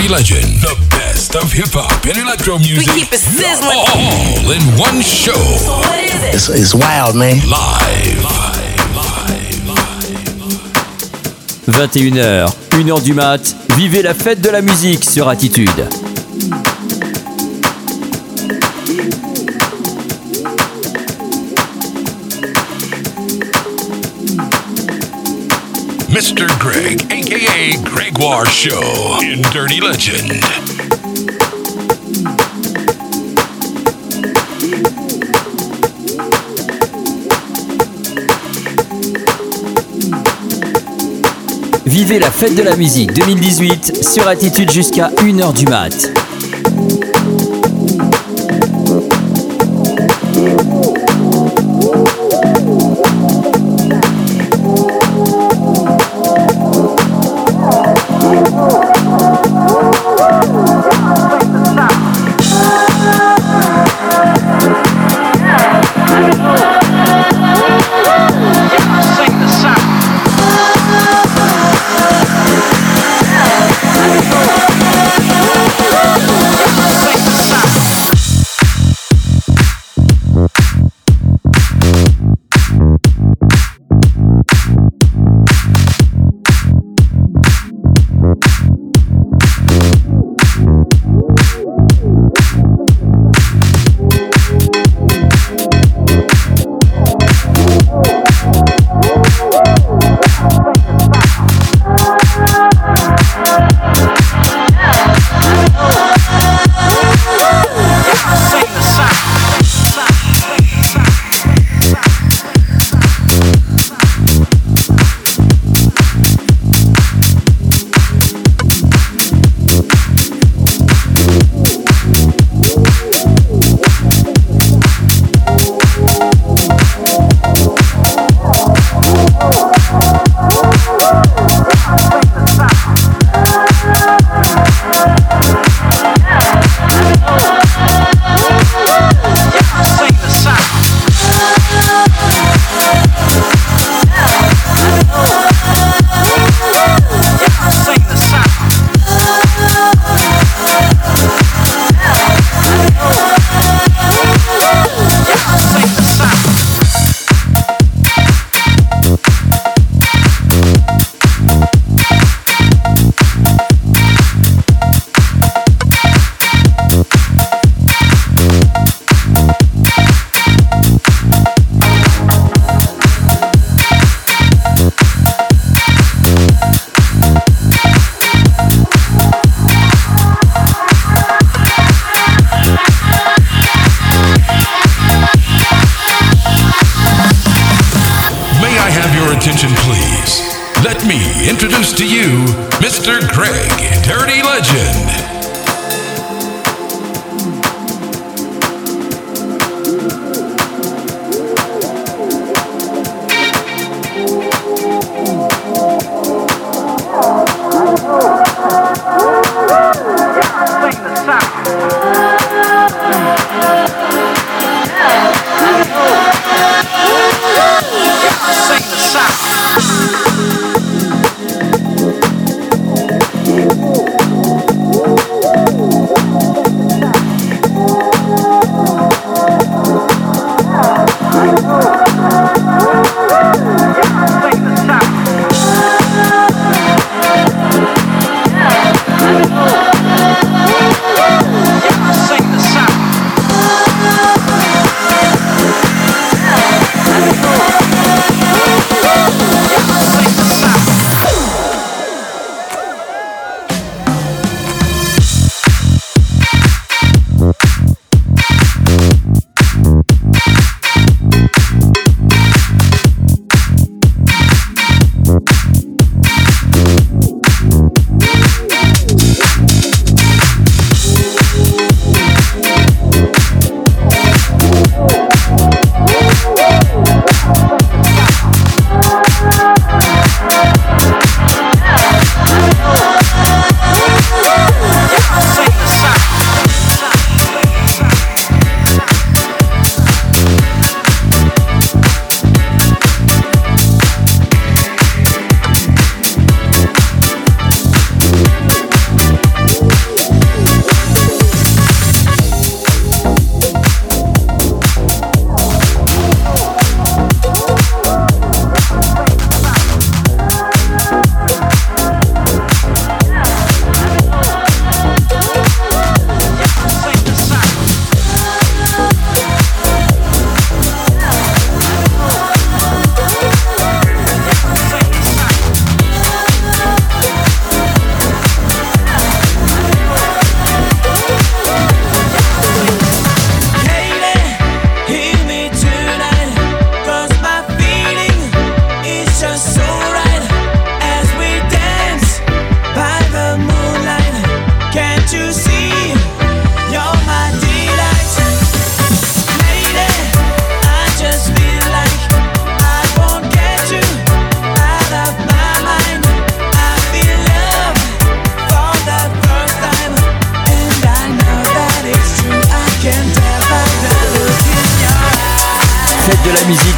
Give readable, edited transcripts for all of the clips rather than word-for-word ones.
Dirty Legend. The best of hip-hop and electro music. We keep it sizzling. All in one show. So what is it? It's wild, man. Live. 21h, 1h du mat, vivez la fête de la musique sur Attitude. Mr. Greg, a.k.a. Gregoire Show in Dirty Legend. Vivez la fête de la musique 2018 sur Attitude jusqu'à 1h du mat. Introduce to you Mr. Greg, Dirty Legend. Sing the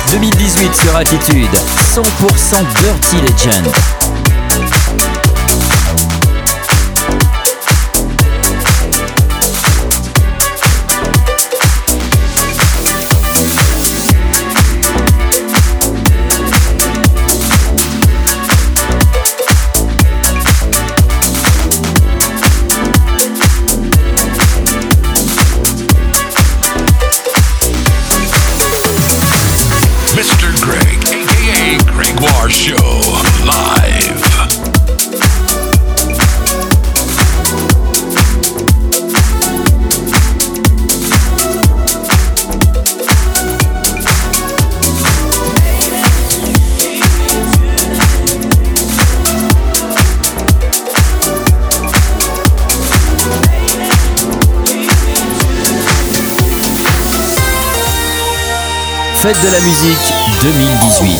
2018 sur Attitude, 100% Dirty Legend. Mr. Greg, aka Gregoire Show, live. Fête de la musique 2018.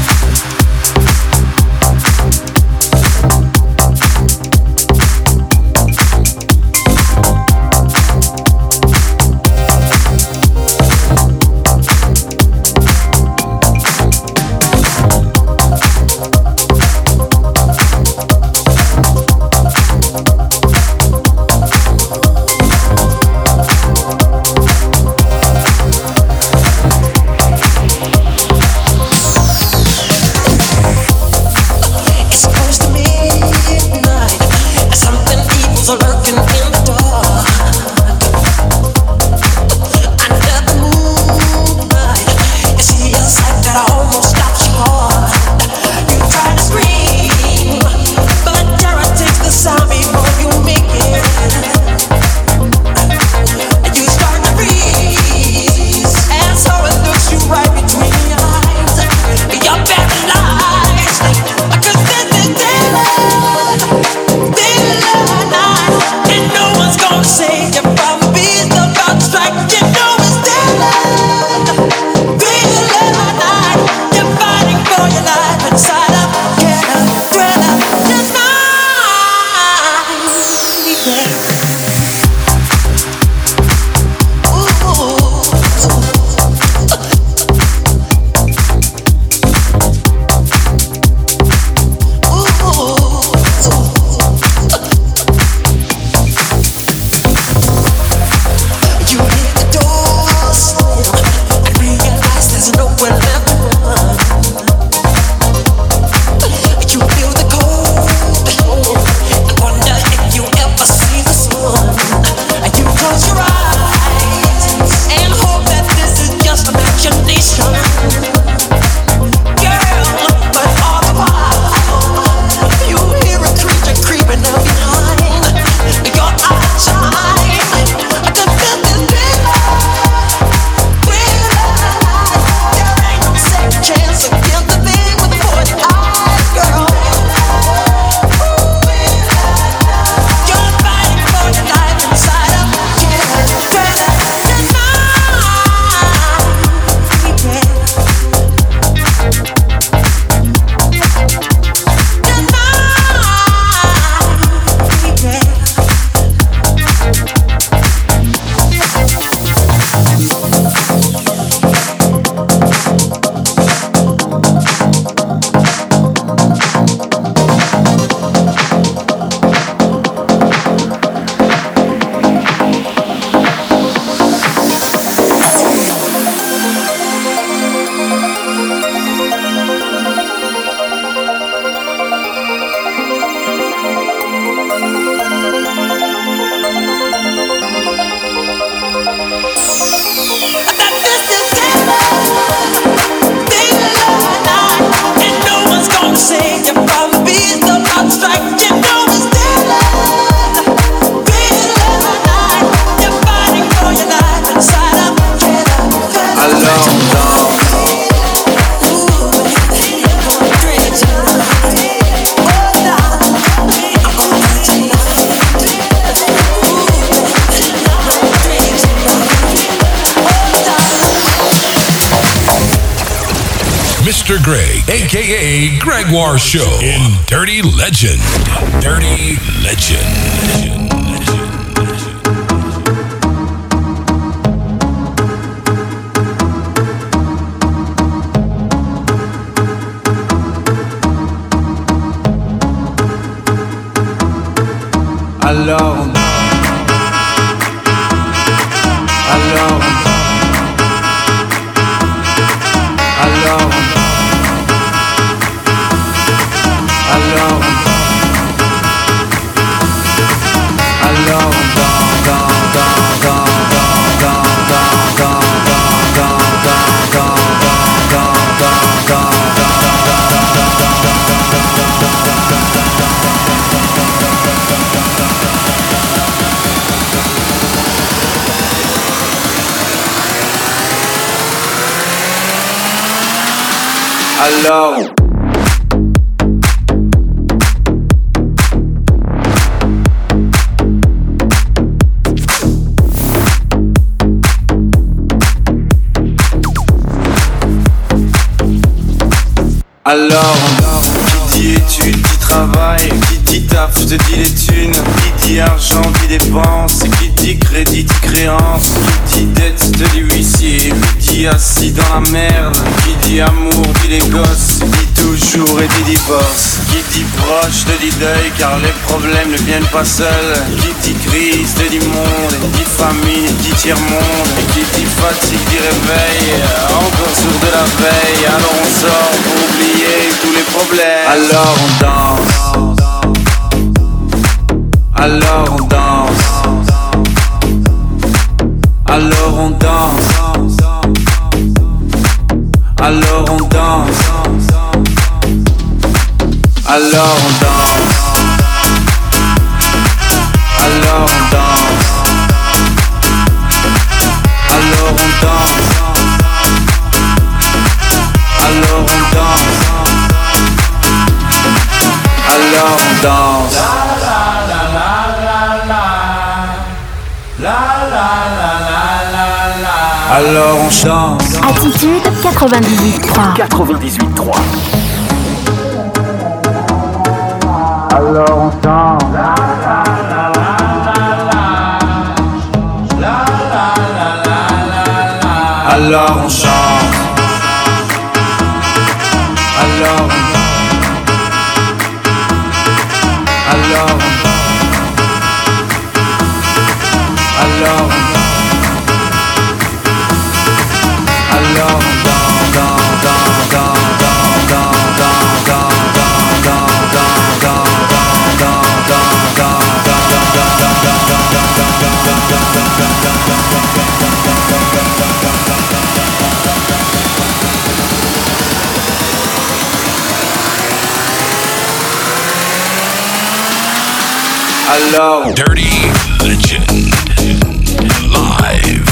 Mr. Greg, aka Gregoire Show, in Dirty Legend. Dirty Legend. Alors on danse. Alors on danse. Alors on danse. Alors on danse. Alors on alors qui dit études, dit travail, qui dit taf, te dit les thunes, qui dit argent, dit dépense, qui dit crédit, dit créance, qui dit dette, te dit huissier, qui dit assis dans la merde, qui dit amour, dit les gosses, dit toujours et dit divorce, qui dit proche, te dit deuil, car les problèmes ne viennent pas seuls, qui dit crise, te dit monde, dit famine, dit tiers-monde, et qui dit fatigue, dit réveil, encore sourd de la veille, alors on sort pour oublier tous les problèmes. Alors on danse. Alors on danse. Alors on danse. Alors on danse. Alors on danse. Alors on danse. Alors on danse. Alors on danse. Alors on danse. Alors on chante. Attitude 98.3. 98.3. Alors on chante. Alors on chante. Alors on alors Dirty Legend live.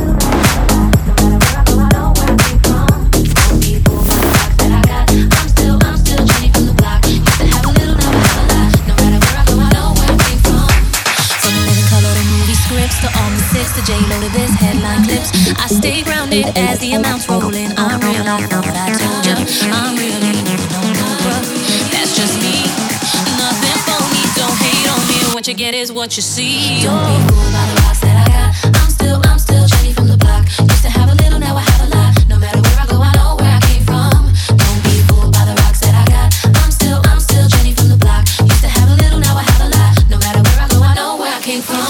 J-Lo to this headline clips. I stay grounded as the amounts roll in. I'm really know what I told ya. I'm really no bruh. That's just me. Nothing phony. Don't hate on me. What you get is what you see. Don't be fooled by the rocks that I got. I'm still Jenny from the block. Used to have a little, now I have a lot. No matter where I go, I know where I came from. Don't be fooled by the rocks that I got. I'm still Jenny from the block. Used to have a little, now I have a lot. No matter where I go, I know where I came from.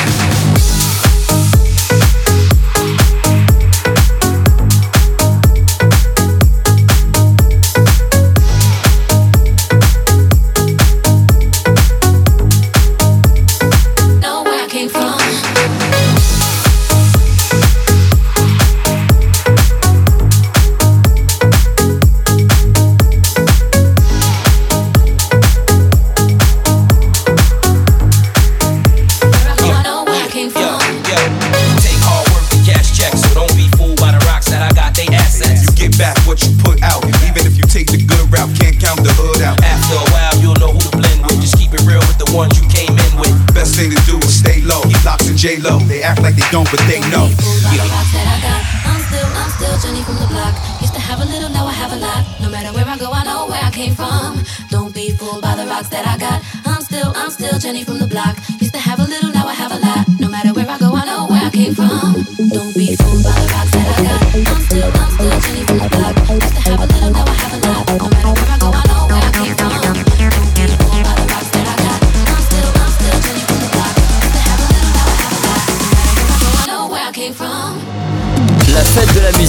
J-Lo, they act like they don't, but they know. Yeah. I'm still Jenny from the block. Used to have a little, now I have a lot. No matter where I go, I know where I came from. Don't be fooled by the rocks that I got. I'm still Jenny from the block. Used to have a little, now I have a lot. No matter where I go, I know where I came from. Don't be fooled by the rocks that I got. I'm still Jenny from the block. Used to have a little, now I have a lot. No matter where I go, I know where I came from. Don't be fooled by the rocks that I got. I'm still Jenny from the block.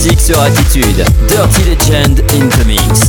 musique sur Attitude. Dirty Legend in the mix.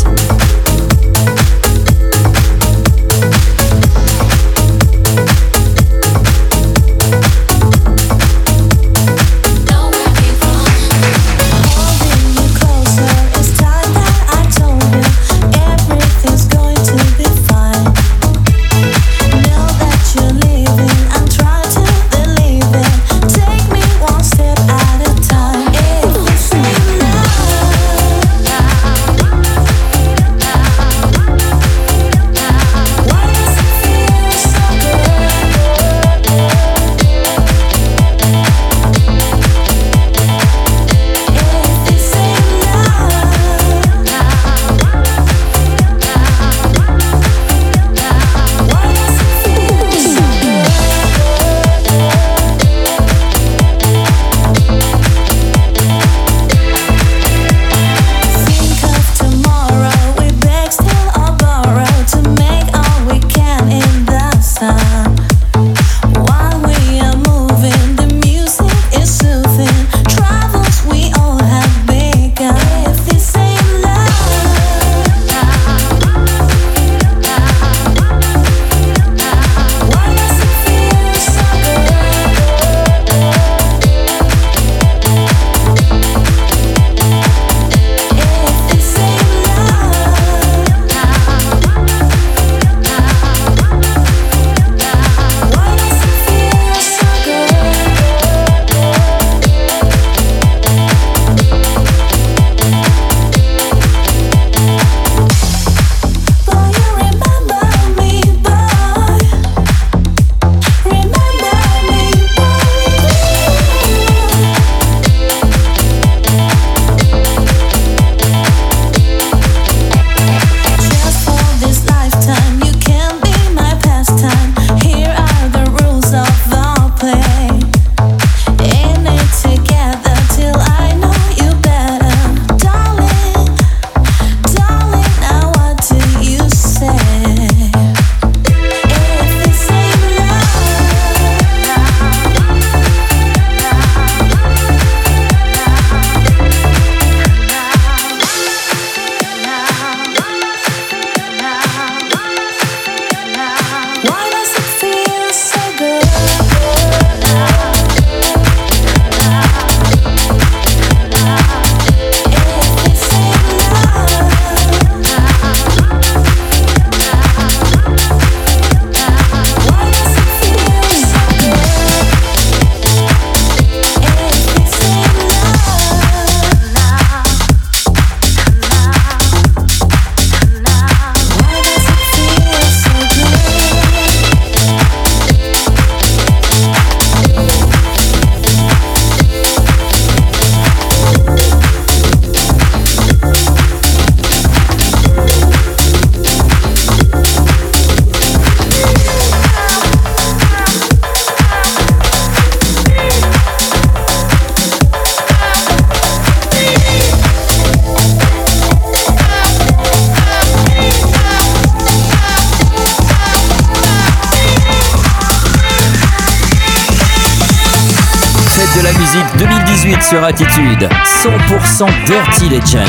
De la musique 2018 sur Attitude, 100% Dirty Legend.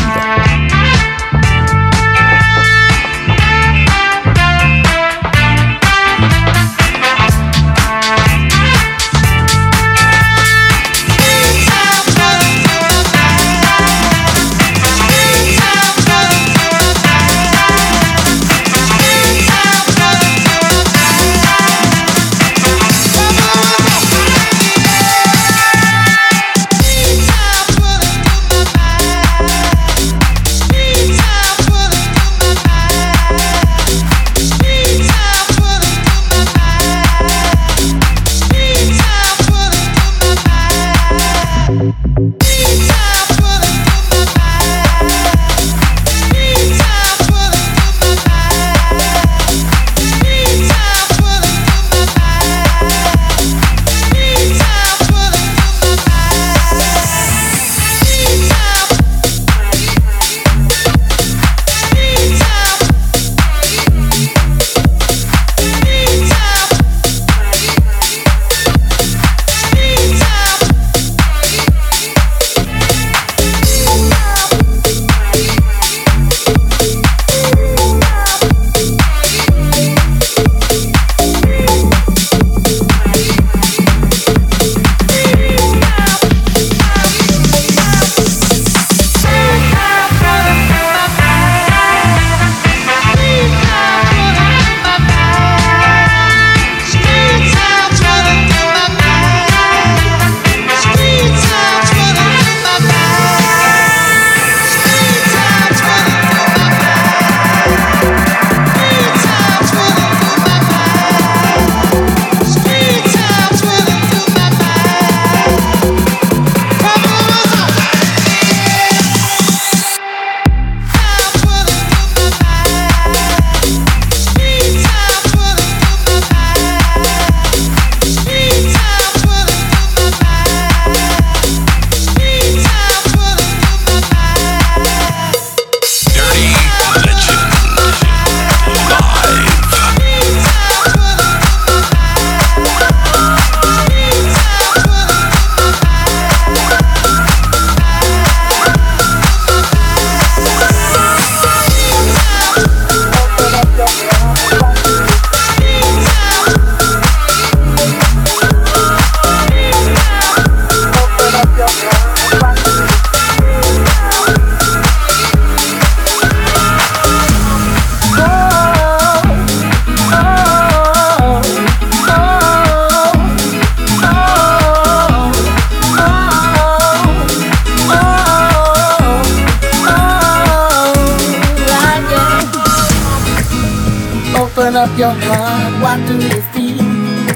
up your heart, what do you feel?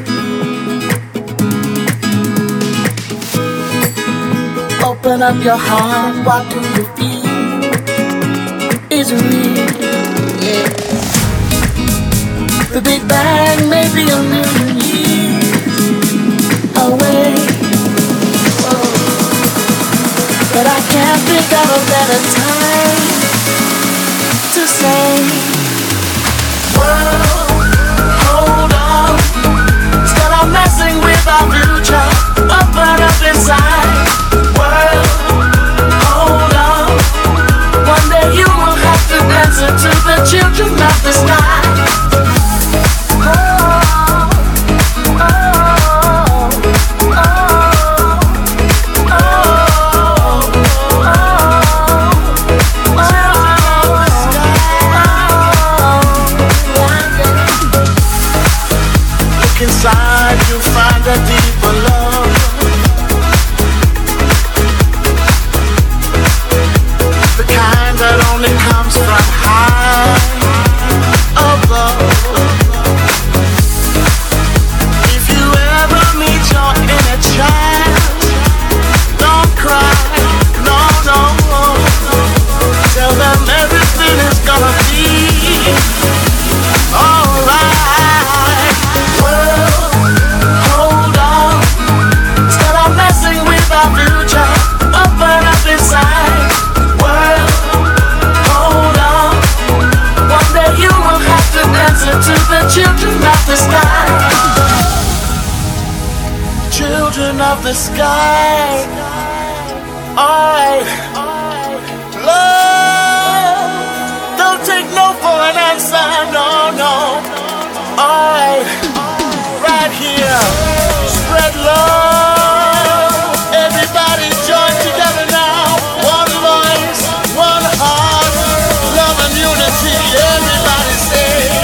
Open up your heart, what do you feel? Is it real? Yeah. The Big Bang may be a million years away, oh, but I can't think of a better time to say, world, hold on. Instead of messing with our future, open up inside. World, hold on. One day you will have to answer to the children of the sky. Inside you find a deeper love, the kind that only comes from high above. If you ever meet your inner child, don't cry, no, no. Tell them everything is gonna be alright. Hold on, instead of messing with our future, open up inside. World, hold on. One day you will have to answer to the children of the sky. Children of the sky. Alright, love, don't take no for an answer, no, no. Alright, right here, spread love. Everybody join together now. One voice, one heart, love and unity. Everybody say,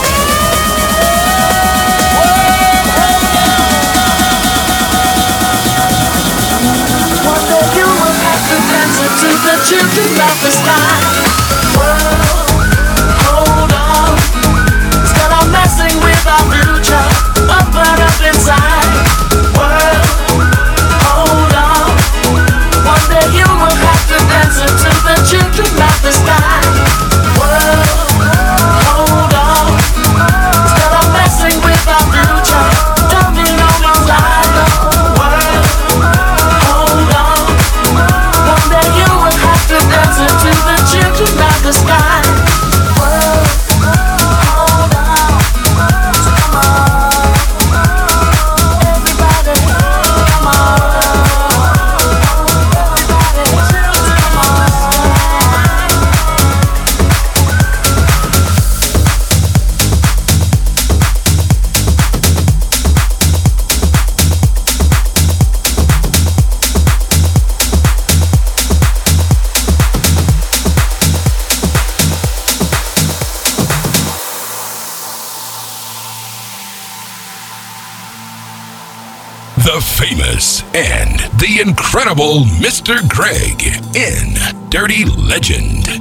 one day you will have to answer to the children of the sky. World, hold on. Instead of messing with our future, open up inside. World, hold on. One day you will have to answer to the children of the sky. World, hold on. Instead of messing with our future, don't be no more liar. World, hold on. One day you will have to answer to the children of the sky. World, hold on. Come on, everybody, come on, everybody, come on. The famous and the incredible Mr. Greg in Dirty Legend.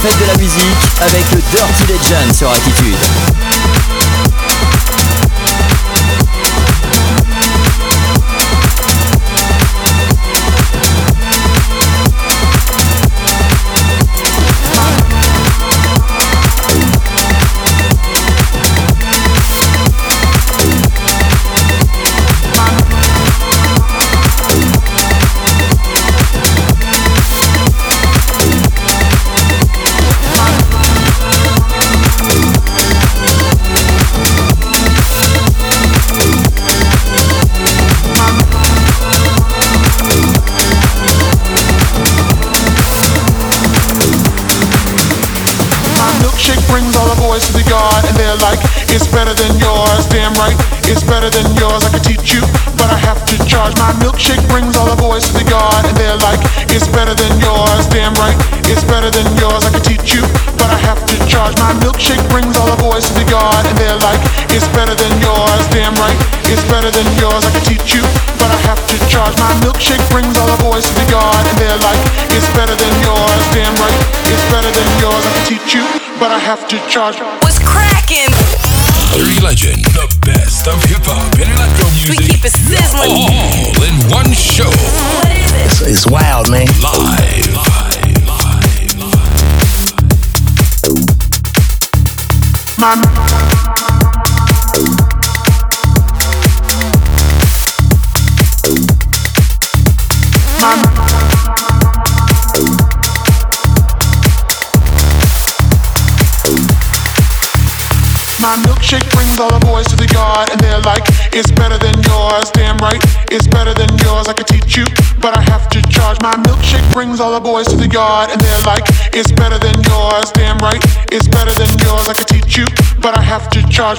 fête de la musique avec le Dirty Legend sur Attitude. Brings all the boys to the yard and they're like, it's better than yours, damn right, it's better than yours, I could teach you, but I have to charge. My milkshake brings all the boys to the yard and they're like, it's better than yours, damn right, it's better than yours, I could teach you, but I have to charge. My milkshake brings all the boys to the yard and they're like, it's better than yours, damn right, it's better than yours, I could teach you, but I have to charge. My milkshake brings all the boys to the yard and they're like, it's better than yours, damn right, it's better than yours, I could teach you, but I have to charge. What's cracking? Dirty Legend, the best of hip-hop and electro music. We keep it sizzling. All in one show. What is it? It's wild, man. Live. My milkshake brings all the boys to the yard and they're like, it's better than yours, damn right, it's better than yours, I could teach you, but I have to charge. My milkshake brings all the boys to the yard and they're like, it's better than yours, damn right, it's better than yours, I could teach you, but I have to charge.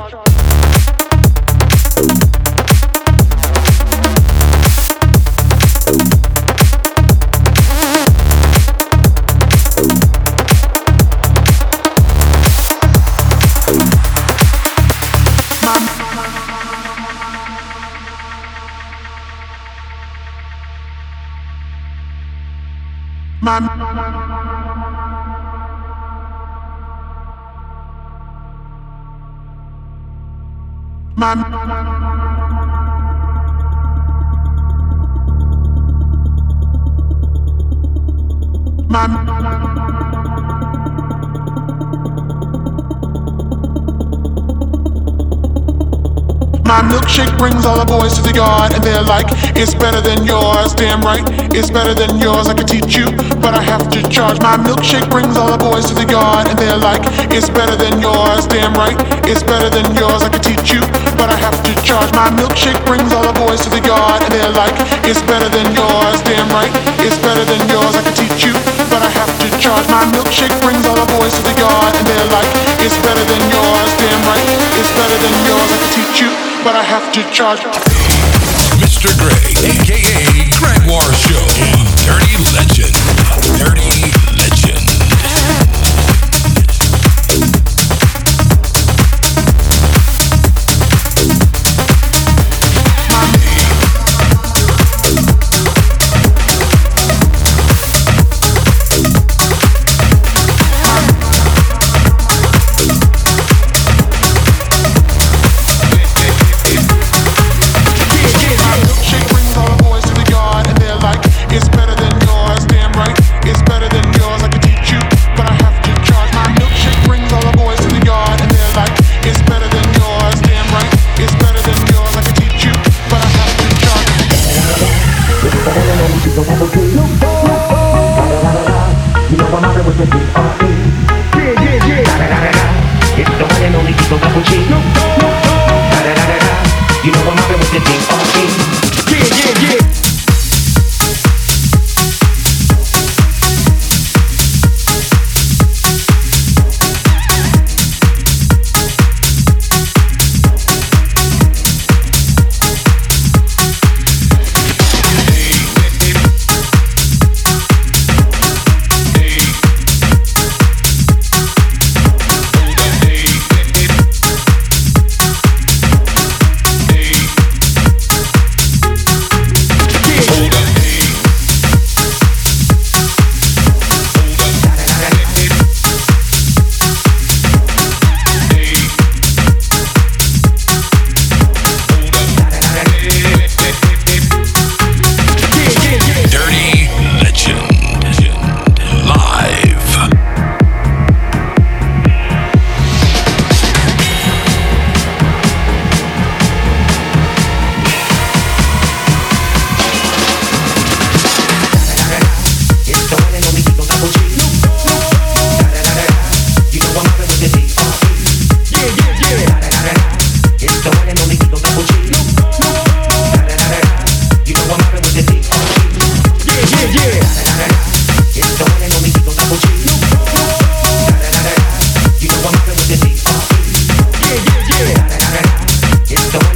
My milkshake brings all the boys to the yard and they're like, it's better than yours, damn right, it's better than yours, I could teach you, but I have to charge. My milkshake brings all the boys to the yard and they're like, it's better than yours, damn right, it's better than yours, I could teach you, but I have to charge. My milkshake brings all the boys to the yard and they're like, it's better than yours, damn right, it's better than yours, I could teach you, but I have to charge. My milkshake brings all the boys to the yard and they're like, it's better than yours, damn right, it's better than yours, I could teach you, but I have to charge. Mr. Greg, a.k.a. Gregoire Show. Dirty Legend. Dirty Legend. It's better than yours, damn right. It's better than yours, I could teach you, but I have to charge. My milkshake brings all the boys to the yard and they're like, it's better than yours, damn right. It's better than yours, I could teach you, but I have to charge. You know I'm out with the D.R.E. It's the one and only Eagle Double G. You know I'm out with the D.R.E.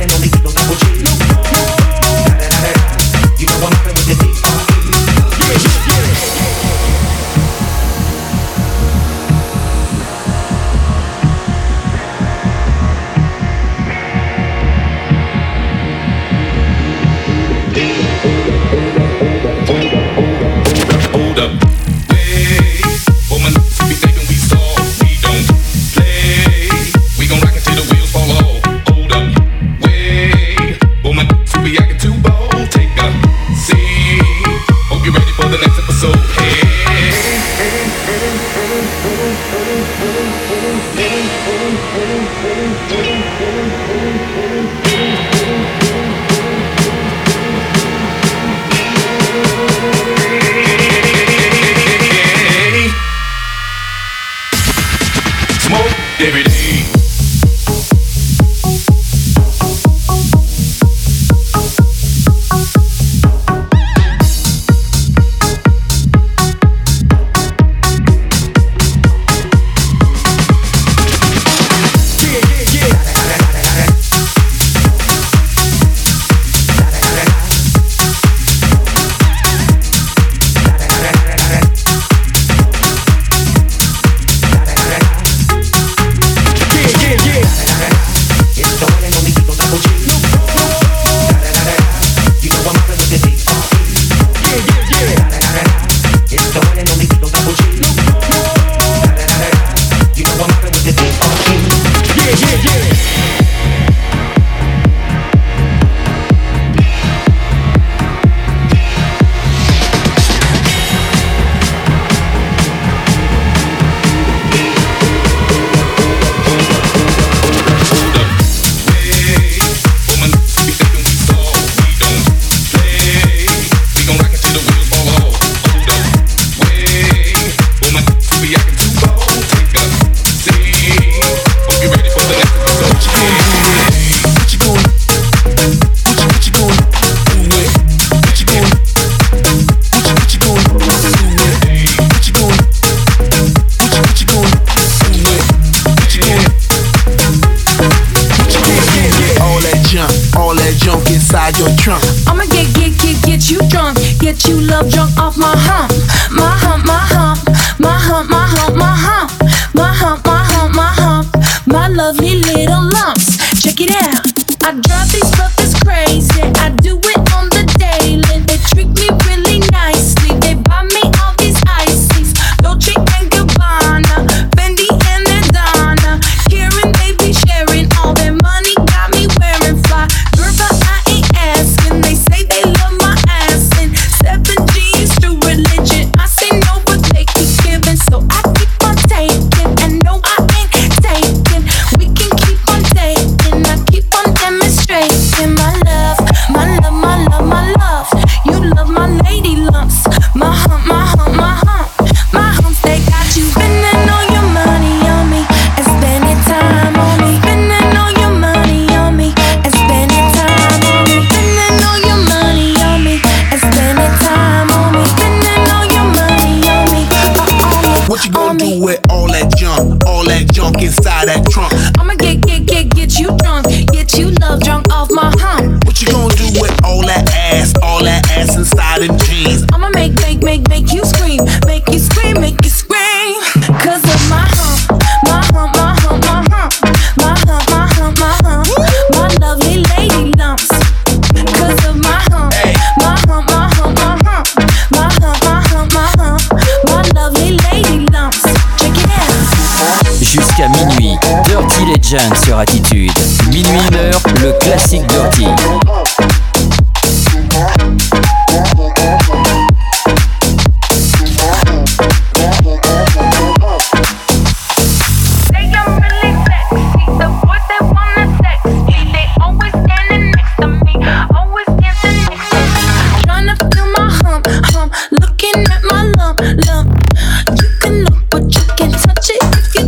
Legend sur Attitude. Minuit 1h, le classique Dirty.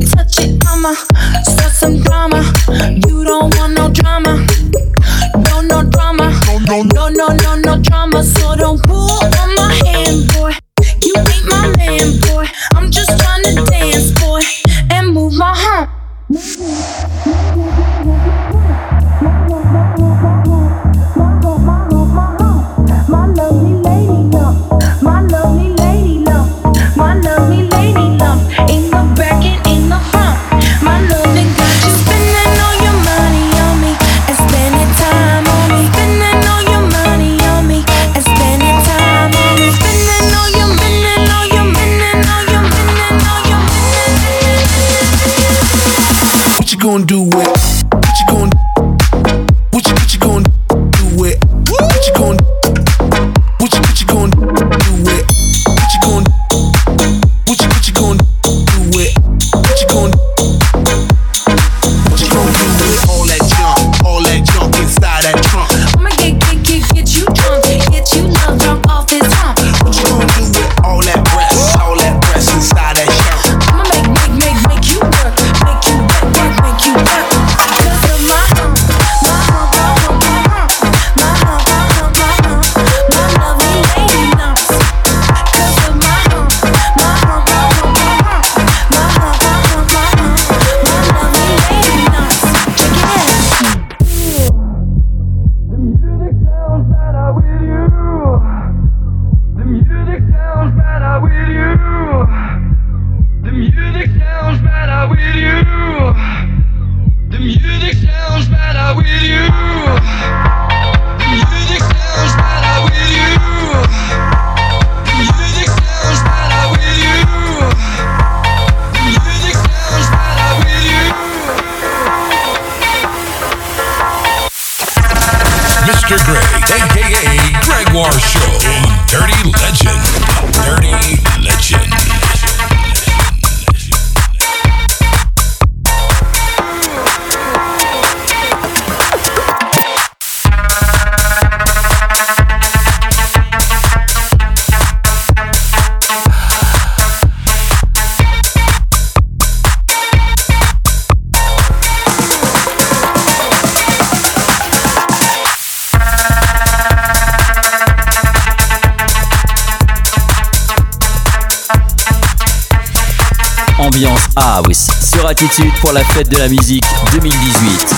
You don't want no drama. No, no. Mr. Greg, a.k.a. Gregoire Show in Dirty Legend. Dirty Legend. Ambiance House sur Attitude pour la fête de la musique 2018.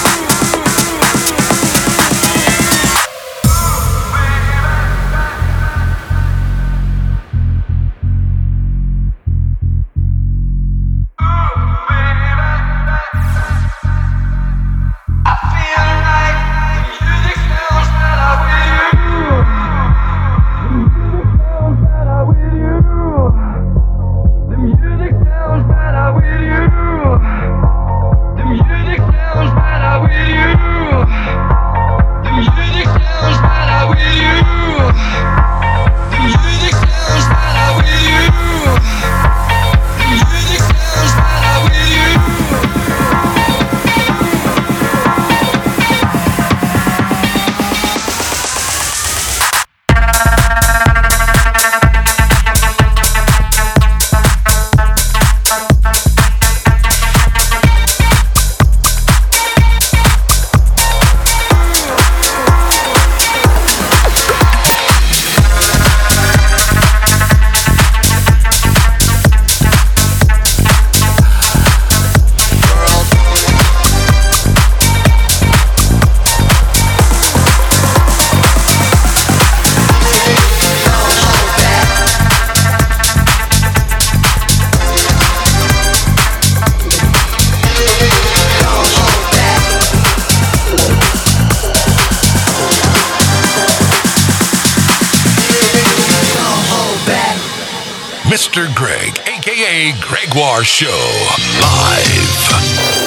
Mr. Greg, a.k.a. Gregoire Show, live.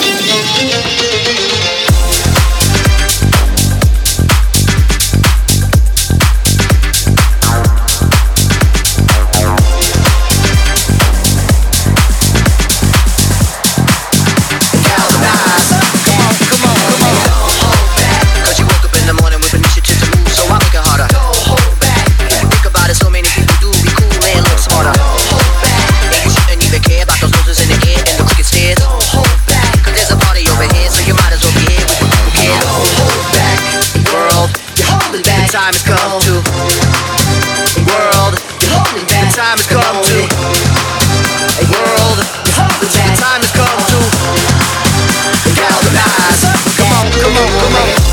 Time has come to world. The time has come to world. The time has come to galvanize. Come on, come on, come on.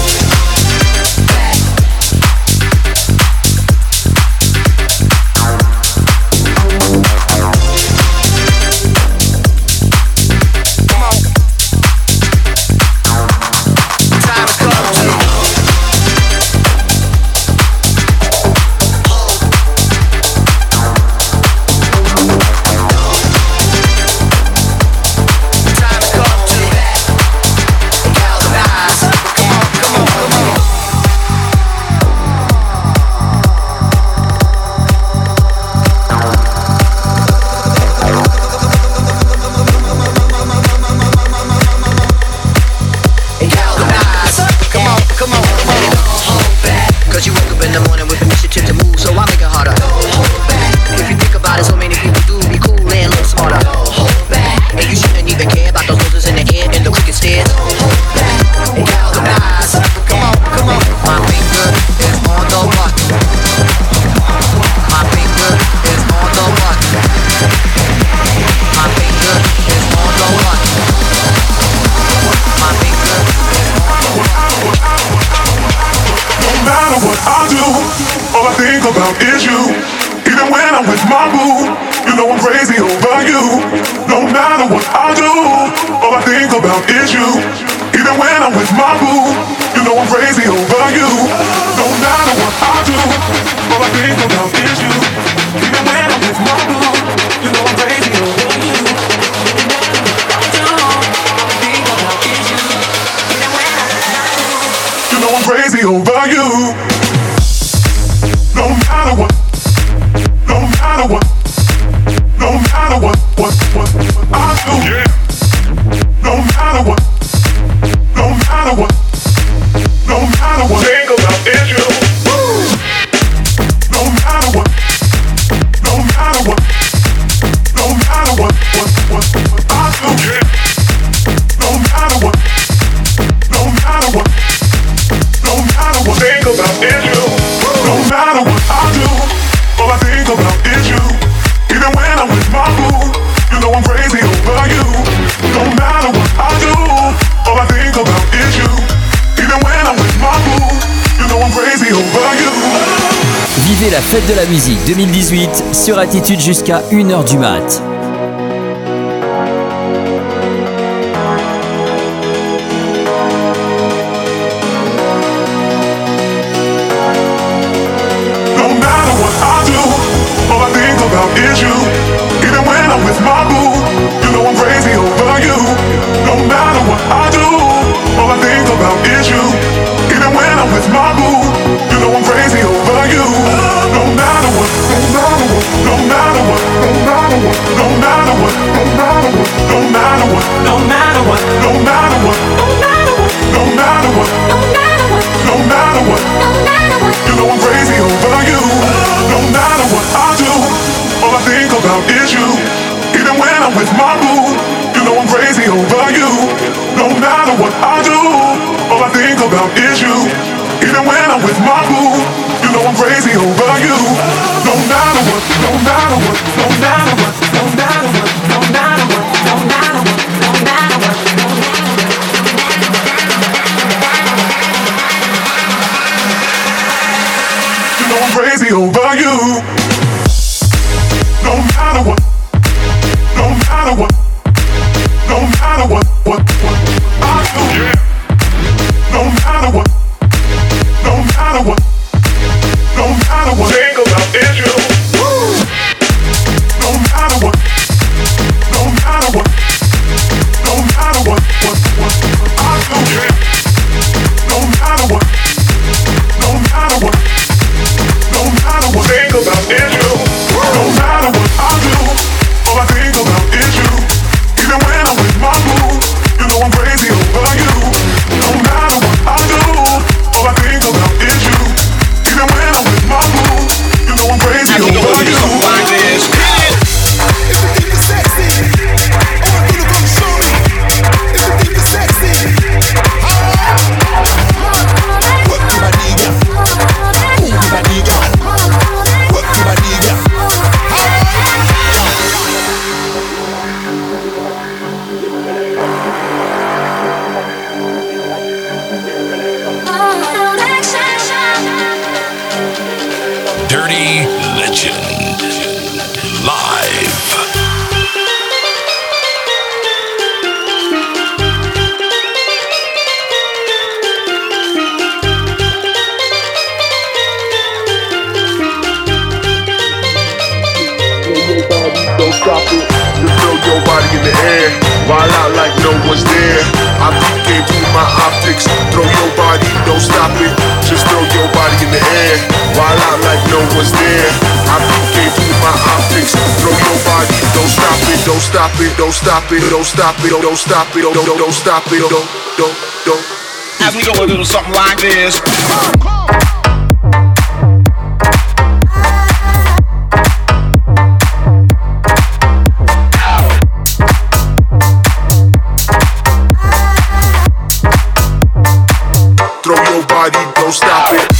crazy over you. No matter what, no matter what, no matter what I do. Yeah. No matter what, no matter what, no matter what. Think about is you. No matter what, no matter what, no matter what I do. Yeah. No matter what, no matter what, no matter what. Think about is you. No matter what I do, all I think about is you. Even when I'm with my boo, you know I'm crazy over you. No matter what I do, all I think about is you. Even when I'm with my boo, you know I'm crazy over you. Vivez la fête de la musique 2018 sur Attitude jusqu'à 1h du mat. Is you. Even when I'm with my boo, you know I'm crazy over you. No matter what I do, all I think about is you. Even when I'm with my boo, you know I'm crazy over you. No matter what, no matter what, no matter what, no matter what, no matter what, no matter what, no matter what, no matter what, no matter what, no matter what, no matter what, you know I'm crazy over you. No matter what I do, all I think about is you. Even when I'm with my boo, you know I'm crazy over you. No matter what I do, all I think about is you. Even when I'm with my boo, you know I'm crazy over you. No matter what, no matter what, no matter what, no matter what, no matter what, no matter what, no matter what, no matter what. You know I'm crazy over you. No matter what, no matter what, no matter what I do. Yeah. No matter what, no matter what, no matter what. Think about is you. No matter what, no matter what, no matter what I do. Yeah. No matter what, no matter what, no matter what. Think about is you. No matter what I do, all I think about is you. Even when I'm with my boo, you know I'm crazy over you. No matter what I do, all I think about is you. Even when I'm with my boo, you know I'm crazy over you. Like this. If you think you're sexy, I want you to come show me. If you think you're sexy, work your body, girl. Move your body, girl. Work your body, girl. Dirty Legend live. Don't stop it, just throw your body in the air. Wild out like no one's there. I'm peeking through my optics. Throw your body, don't stop it. Just throw your body in the air. Wild out like no one's there. I'm peeking through my optics. Throw your body, don't stop it. Don't stop it, don't stop it, don't stop it, don't stop it, don't stop it, don't. As we go a little something like this. Throw your body, don't stop it.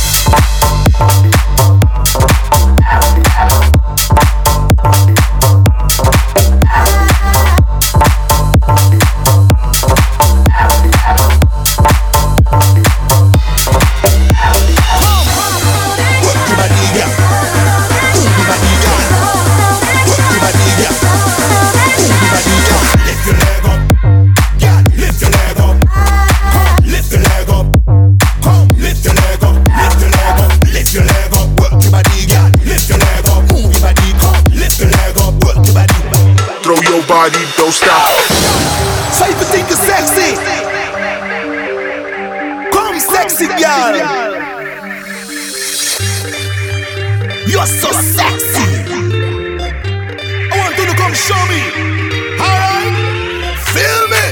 Body, don't stop. So if you think you're sexy, come sexy girl. You're so sexy. I want you to come show me. Alright? Feel me?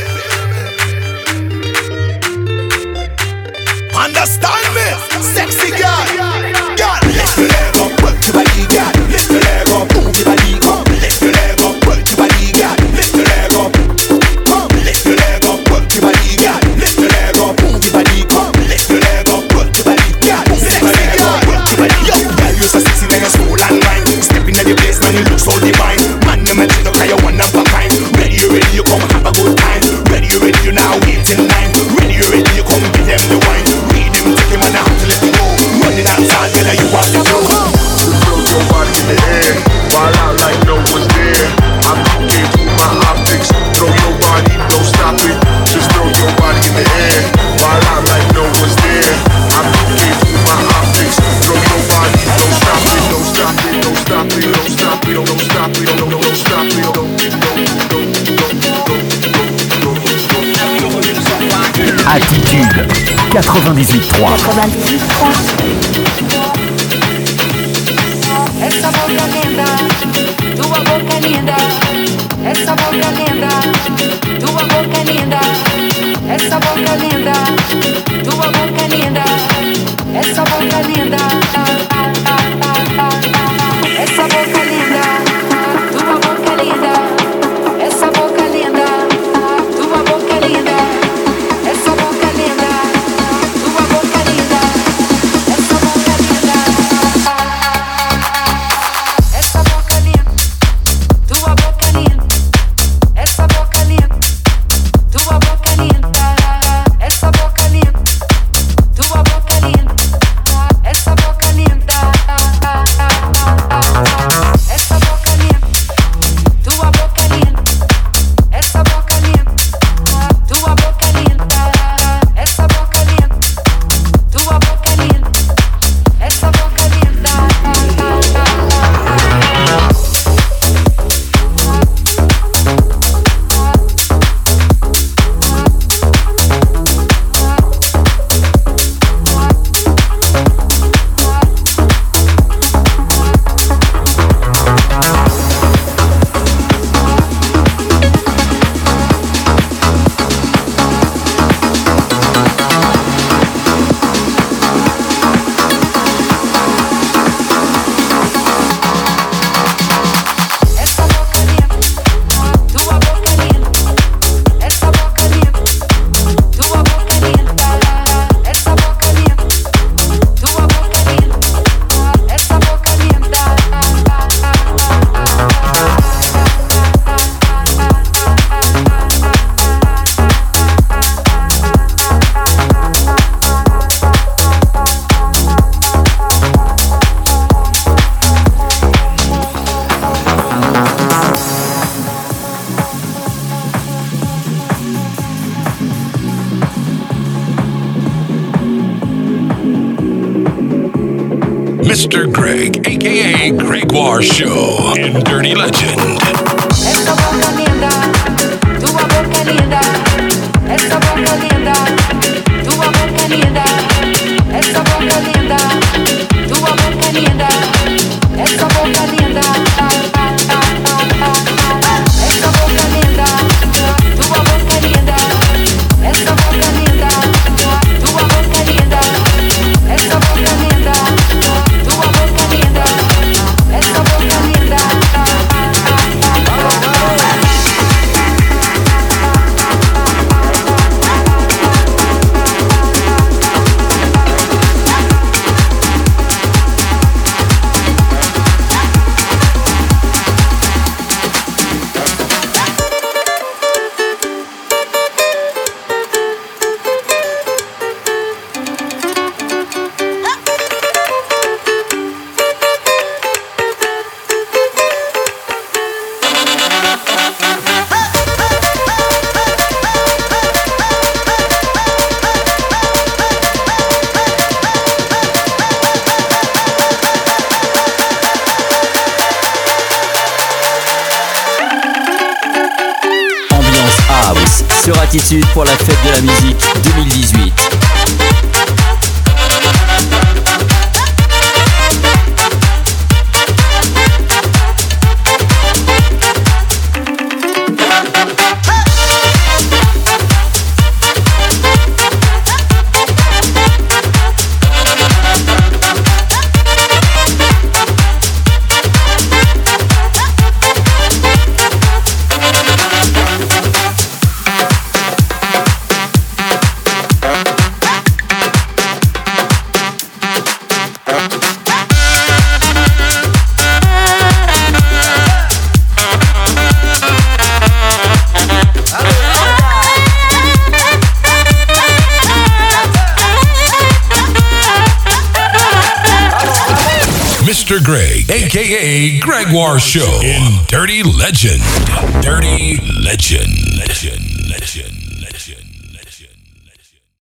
Understand me? Sexy girl. Girl, lift your leg up, work your body, girl. Lift your leg up, move your body, come. Lift your leg up, work your body, girl. Lift your leg up, come. Lift your leg up, work your body, girl. Lift your leg up, move your body, come. Lift your leg up, work your body, girl. Sexy girl, work your body. Yo, girl, you're so sexy, then you're soul and mind. Step in the place, man, you look so divine. Man, you mention the kind, you one of a kind. Ready, you come have a good time. Ready, you now wait in line. Ready, you come give them the wine. Read them, take him on the house, let him go. Running outside, girl, you want to go. Throw your body in the air, while out like no one's there. I'm looking through my optics. Throw your body, don't stop it. Just throw your body in the air, while out like no one's there. I'm looking through my optics. Throw your body, don't stop it, don't stop it, don't stop it, don't stop it, don't stop it, don't stop it, Attitude 98.3. Essa boca linda, tua boca linda. Essa boca linda, tua boca linda. Essa boca linda, tua boca linda. Essa boca linda. Essa boca linda, tua boca linda. Essa boca linda, tua boca linda. Essa boca linda, tua boca linda. Essa boca linda. Essa boca linda, tua boca linda. Essa boca linda, tua boca linda. Essa boca linda, tua boca linda. Essa boca linda. Essa boca linda, tua boca linda. Essa boca linda, tua boca linda. Essa boca linda, tua boca linda. Essa boca linda. Essa boca linda, tua boca linda. Essa boca linda, tua boca linda. Essa boca linda, tua boca linda. Essa boca linda. Mr. Greg, aka Gregoire Show in Dirty Legend. Essa boca linda, tua boca linda. Essa boca linda, tua boca linda. Essa boca linda, tua boca linda. Essa boca linda. Essa boca linda, tua boca linda. Essa boca linda, tua boca linda. Essa boca linda, tua boca linda. Essa boca linda. sur Attitude pour la fête de la musique 2018. Mr. Greg, aka Gregoire Show in Dirty Legend. Dirty Legend. Legend. Legend. Legend.